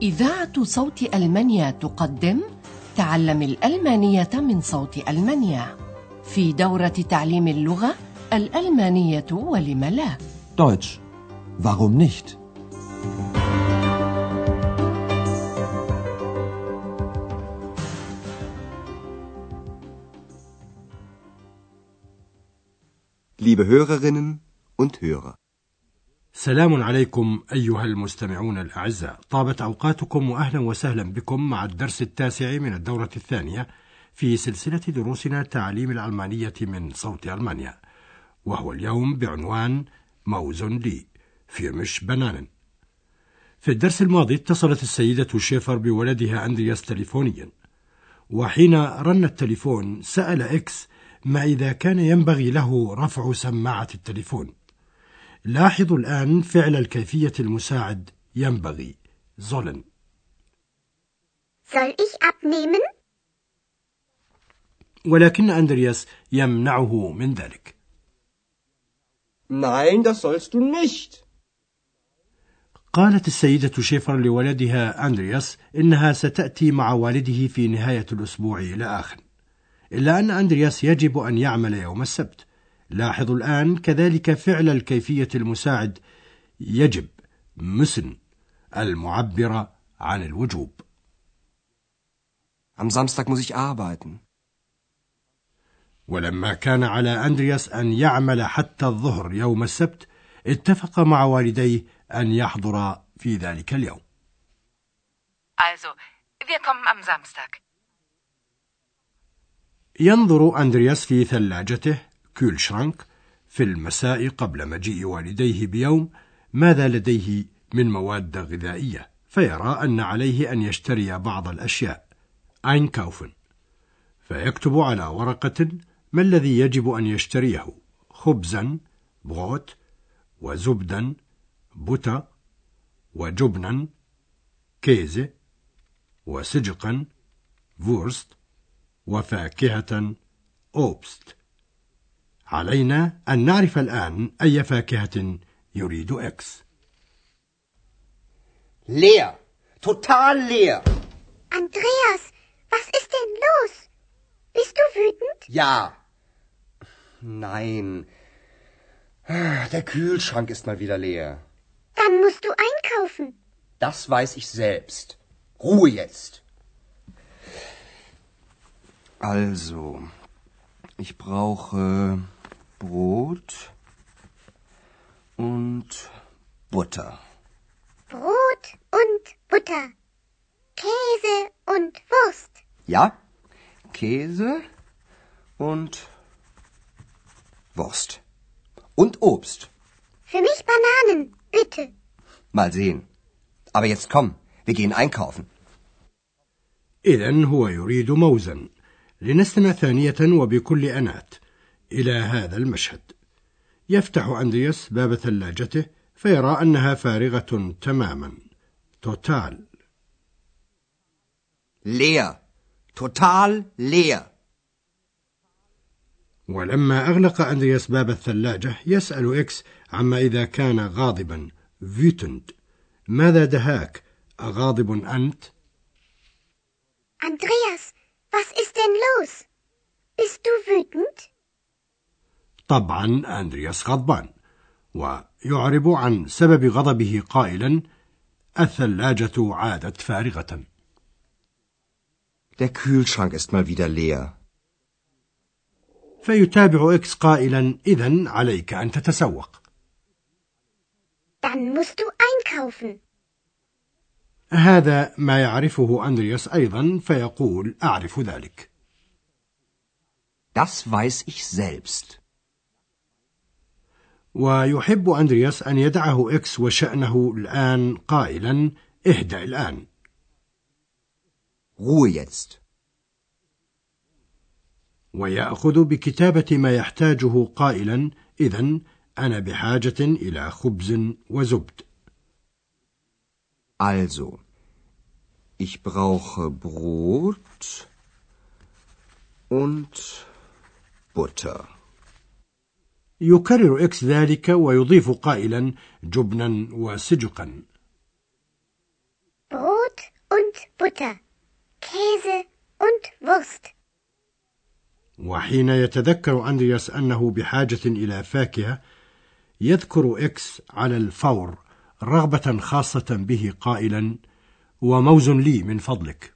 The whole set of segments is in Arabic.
إذاعة صوت ألمانيا تقدم تعلم الألمانية من صوت ألمانيا في دورة تعليم اللغة الألمانية ولم لا. Deutsch. Warum nicht? Liebe Hörerinnen und Hörer. سلام عليكم أيها المستمعون الأعزاء، طابت أوقاتكم وأهلا وسهلا بكم مع الدرس 9 من الدورة 2 في سلسلة دروسنا تعليم الألمانية من صوت ألمانيا، وهو اليوم بعنوان موزن لي في مش بنان. في الدرس الماضي اتصلت السيدة شيفر بولدها أندرياس تليفونيا، وحين رن التليفون سأل إكس ما إذا كان ينبغي له رفع سماعة التليفون. لاحظوا الآن فعل الكيفية المساعد ينبغي sollen. Soll ich abnehmen؟ ولكن أندرياس يمنعه من ذلك. Nein, das sollst du nicht. قالت السيدة شيفر لولدها أندرياس إنها ستأتي مع والده في نهاية الأسبوع إلى آخر، إلا أن أندرياس يجب أن يعمل يوم السبت. لاحظوا الآن كذلك فعل الكيفية المساعد يجب müssen المعبرة عن الوجوب. Am Samstag muss ich arbeiten. ولما كان على أندرياس أن يعمل حتى الظهر يوم السبت، اتفق مع والديه أن يحضر في ذلك اليوم. Also, wir kommen am Samstag. ينظر أندرياس في ثلاجته كولشرانك في المساء قبل مجيء والديه بيوم ماذا لديه من مواد غذائية، فيرى أن عليه أن يشتري بعض الأشياء einkaufen، فيكتب على ورقة ما الذي يجب أن يشتريه: خبزا بروت، وزبدا بوتا، وجبنا كيزه، وسجقا وورست، وفاكهة أوبست. علينا أن نعرف الآن أي فاكهة يريد إكس. Leer. Total leer. Andreas, was ist denn los? Bist du wütend? Ja. Nein. Der Kühlschrank ist mal wieder leer. Dann musst du einkaufen. Das weiß ich selbst. Ruhe jetzt. Also, ich brauche Brot und Butter. Brot und Butter. Käse und Wurst. Ja, Käse und Wurst. Und Obst. Für mich Bananen, bitte. Mal sehen. Aber jetzt komm, wir gehen einkaufen. إذن هو يريد موزا. لنستمع ثانية وبكل أنات إلى هذا المشهد. يفتح أندرياس باب ثلاجته فيرى أنها فارغة تماما. توتال. Leer. Total leer. ولما أغلق أندرياس باب الثلاجة يسأل إكس عما إذا كان غاضبا wütend. ماذا دهاك؟ أغاضب أنت؟ Andreas, was ist denn los? Bist du wütend? طبعا أندرياس غضبان، ويعرب عن سبب غضبه قائلا الثلاجة عادت فارغة. Der Kühlschrank ist mal wieder leer. فيتابع إكس قائلا إذن عليك أن تتسوق. Dann musst du einkaufen. هذا ما يعرفه أندرياس أيضا، فيقول أعرف ذلك. Das weiß ich selbst. ويحب أندرياس أن يدعه إكس وشأنه الآن قائلا اهدأ الآن. Ruhe jetzt. ويأخذ بكتابة ما يحتاجه قائلا إذن أنا بحاجة إلى خبز وزبد. Also, ich brauche Brot und Butter. يكرر إكس ذلك ويضيف قائلا جبنا وسجقا. Brot Butter, Käse und Wurst. وحين يتذكر أندرياس أنه بحاجة إلى فاكهة يذكر إكس على الفور رغبة خاصة به قائلا: وموز لي من فضلك.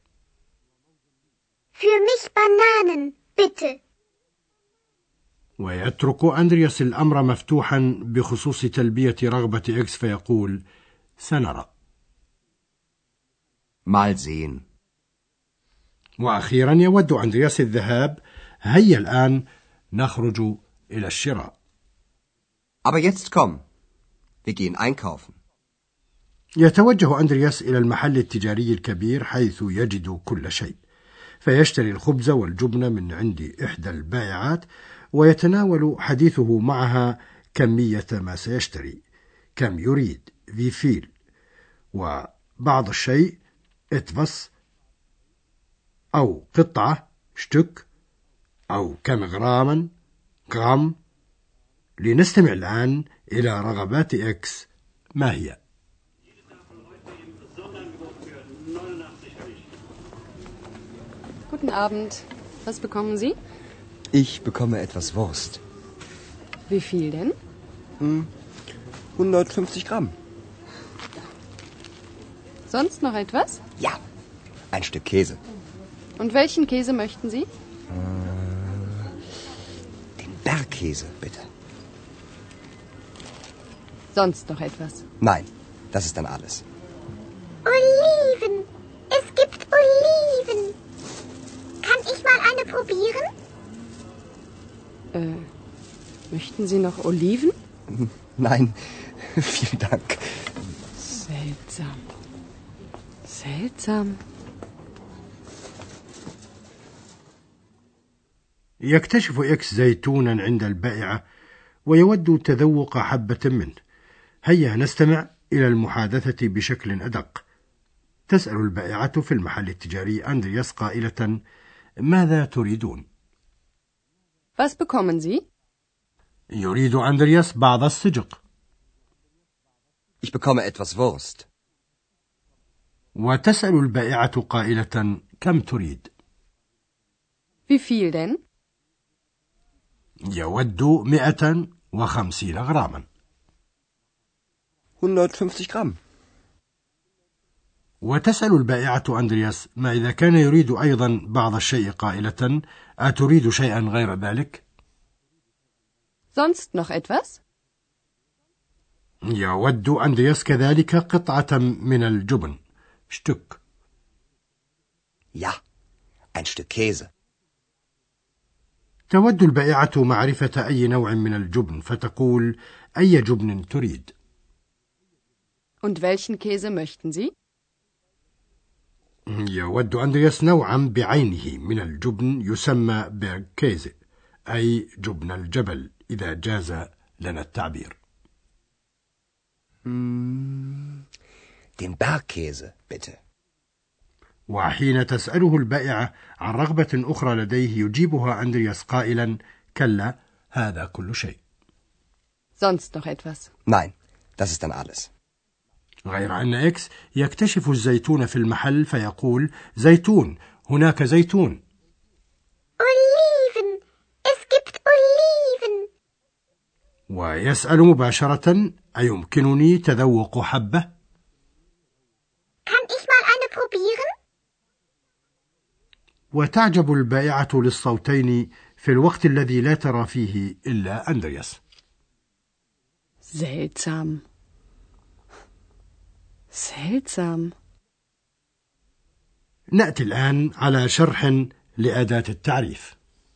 Für mich Bananen, bitte. ويترك أندرياس الأمر مفتوحا بخصوص تلبية رغبة إكس فيقول: سنرى. Mal sehen. وأخيرا يود أندرياس الذهاب. هيا الآن نخرج إلى الشراء. Aber jetzt komm. Wir gehen einkaufen. يتوجه أندرياس إلى المحل التجاري الكبير حيث يجد كل شيء، فيشتري الخبز والجبن من عند إحدى البائعات، ويتناول حديثه معها كمية ما سيشتري، كم يريد wie viel، وبعض الشيء etwas، أو قطعة Stück، أو كم غراما غرام. لنستمع الآن إلى رغبات إكس. ما هي؟ Guten Abend. Was bekommen Sie? Ich bekomme etwas Wurst. Wie viel denn? 150 Gramm. Sonst noch etwas? Ja, ein Stück Käse. Und welchen Käse möchten Sie? Den Bergkäse, bitte. Sonst noch etwas? Nein, das ist dann alles. Oliven. Es gibt Oliven. Kann ich mal eine probieren? Möchten Sie noch Oliven? Nein, vielen Dank. Seltsam. Seltsam. يكتشف إكس زيتونا عند البائعة ويود تذوق حبة منه. هيا نستمع إلى المحادثة بشكل أدق. تسأل البائعة في المحل التجاري أندرياس قائلة: ماذا تريدون؟ Was bekommen Sie? يريد أندرياس بعض السجق. Ich bekomme etwas Wurst. وتسأل البائعة قائلة: كم تريد؟ Wie viel denn? يود 150 غراما. 150 Gramm. وتسأل البائعة أندرياس ما إذا كان يريد أيضا بعض الشيء قائلة: أتريد شيئا غير ذلك؟ Sonst noch etwas? يود أندرياس كذلك قطعة من الجبن Stück. Ja, ein Stück Käse. تود البائعة معرفة أي نوع من الجبن فتقول: أي جبن تريد؟ Und welchen Käse möchten Sie? يود أندرياس نوعا بعينه من الجبن يسمى بيرغكيزي، أي جبن الجبل إذا جاز لنا التعبير. Den Bergkäse, bitte. وحين تسأله البائعة عن رغبة أخرى لديه يجيبها أندرياس قائلا: كلا، هذا كل شيء. Sonst noch etwas? Nein, das ist dann alles. غير أن إكس يكتشف الزيتون في المحل فيقول: زيتون، هناك زيتون. Oliven. Es gibt Oliven. ويسأل مباشرة: أيمكنني تذوق حبة؟ Kann ich mal eine probieren? وتعجب البائعة للصوتين في الوقت الذي لا ترى فيه إلا أندرياس. Seltsam. Seltsam. نأتي الآن على شرح لأداة التعريف.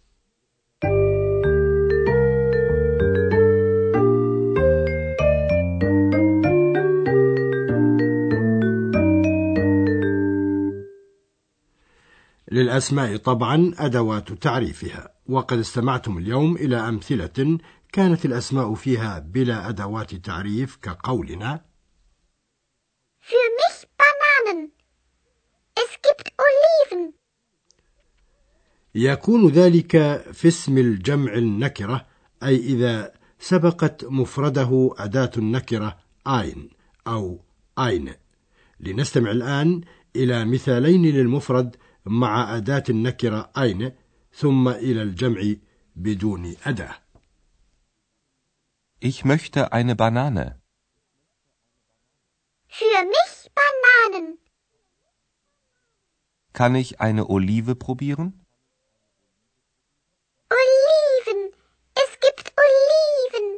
للأسماء طبعا أدوات تعريفها، وقد استمعتم اليوم إلى أمثلة كانت الأسماء فيها بلا أدوات تعريف كقولنا: Für mich Bananen. Es gibt Oliven. يكون ذلك في اسم الجمع النكرة، أي إذا سبقت مفرده أداة النكرة ein أو eine. لنستمع الآن إلى مثالين للمفرد مع أداة النكرة eine ثم إلى الجمع بدون أداة. Ich möchte eine Banane. Für mich Bananen. Kann ich eine Olive probieren? Oliven. Es gibt Oliven.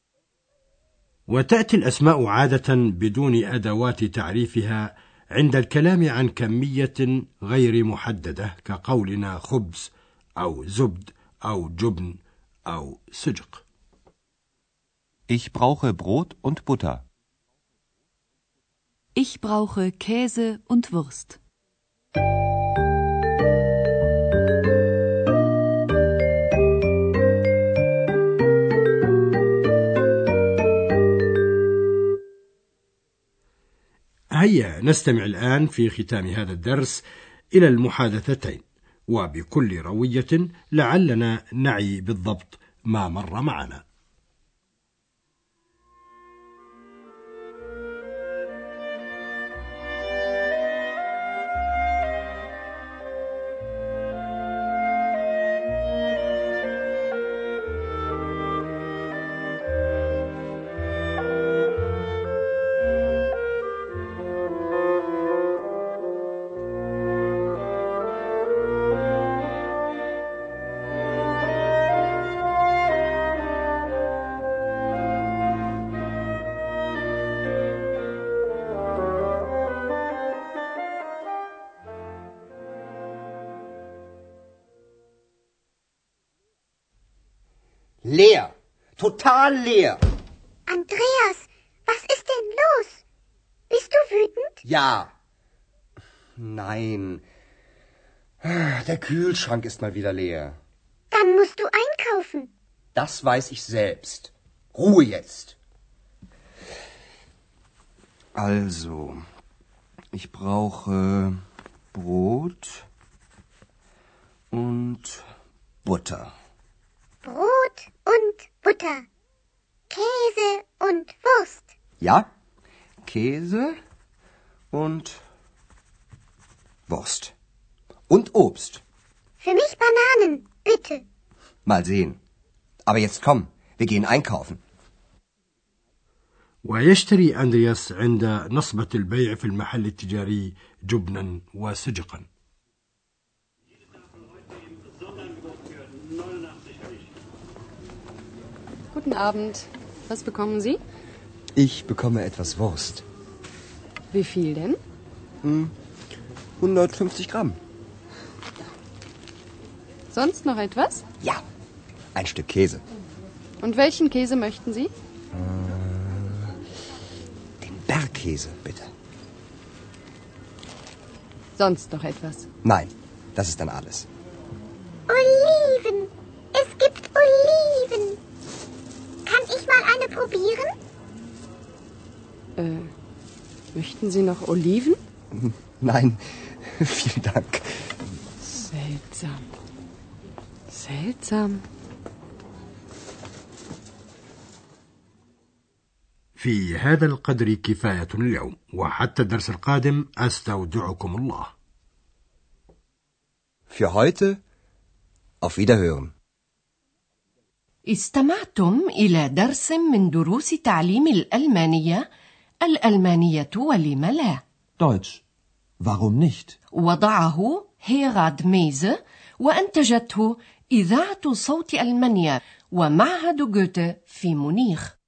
وتأتي الأسماء عادة بدون أدوات تعريفها عند الكلام عن كمية غير محددة كقولنا خبز أو زبد أو جبن أو سجق. Ich brauche Brot und Butter. Ich brauche Käse und Wurst. هيا نستمع الآن في ختام هذا الدرس إلى المحادثتين وبكل روية لعلنا نعي بالضبط ما مر معنا. Leer. Total leer. Andreas, was ist denn los? Bist du wütend? Ja. Nein. Der Kühlschrank ist mal wieder leer. Dann musst du einkaufen. Das weiß ich selbst. Ruhe jetzt. Also, ich brauche Brot und Butter. Brot und Butter. Käse und Wurst. Ja, Käse und Wurst. Und Obst. Für mich Bananen, bitte. Mal sehen. Aber jetzt komm, wir gehen einkaufen. ويشتري أندرياس عند نصبة البيع في المحل التجاري جبنا وسجقا. Guten Abend. Was bekommen Sie? Ich bekomme etwas Wurst. Wie viel denn? 150 Gramm. Sonst noch etwas? Ja, ein Stück Käse. Und welchen Käse möchten Sie? Den Bergkäse, bitte. Sonst noch etwas? Nein, das ist dann alles. Oliven. Es gibt Oliven. Kann ich mal eine probieren? Möchten Sie noch Oliven? Nein, vielen Dank. Seltsam. Seltsam. في هذا القدر كفاية اليوم وحتى الدرس القادم أستودعكم الله. Für heute auf Wiederhören. استمعتم إلى درس من دروس تعليم الألمانية ولم لا. Deutsch. Warum nicht? وضعه هيراد ميزه وأنتجته إذاعة صوت ألمانيا ومعهد جوته في مونيخ.